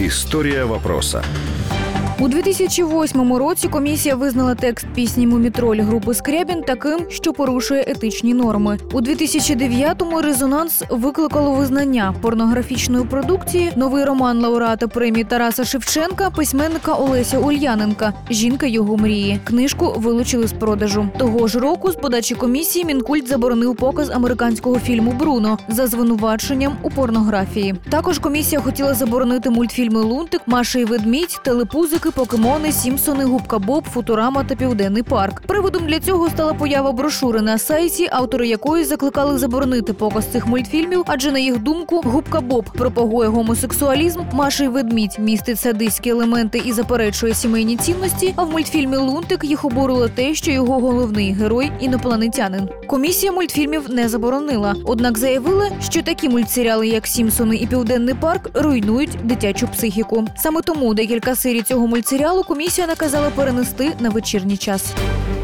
История вопроса. У 2008 році комісія визнала текст пісні «Мумітроль» групи Скрябін таким, що порушує етичні норми. У 2009-му резонанс викликало визнання порнографічної продукції новий роман лауреата премії Тараса Шевченка, письменника Олеся Ульяненка «Жінка його мрії». Книжку вилучили з продажу. Того ж року з подачі комісії Мінкульт заборонив показ американського фільму «Бруно» за звинуваченням у порнографії. Також комісія хотіла заборонити мультфільми «Лунтик», «Маша і ведмідь», «Телепузики», «Покемони», «Сімпсони», «Губка Боб», «Футурама» та «Південний парк». Приводом для цього стала поява брошури на сайті, автори якої закликали заборонити показ цих мультфільмів, адже, на їх думку, «Губка Боб» пропагує гомосексуалізм, «Маша і ведмідь» містить садистські елементи і заперечує сімейні цінності, а в мультфільмі «Лунтик» їх обурило те, що його головний герой – інопланетянин. Комісія мультфільмів не заборонила, однак заявила, що такі мультсеріали, як «Сімпсони» і «Південний парк», руйнують дитячу психіку. Саме тому декілька серій цього мультсеріалу комісія наказала перенести на вечірній час.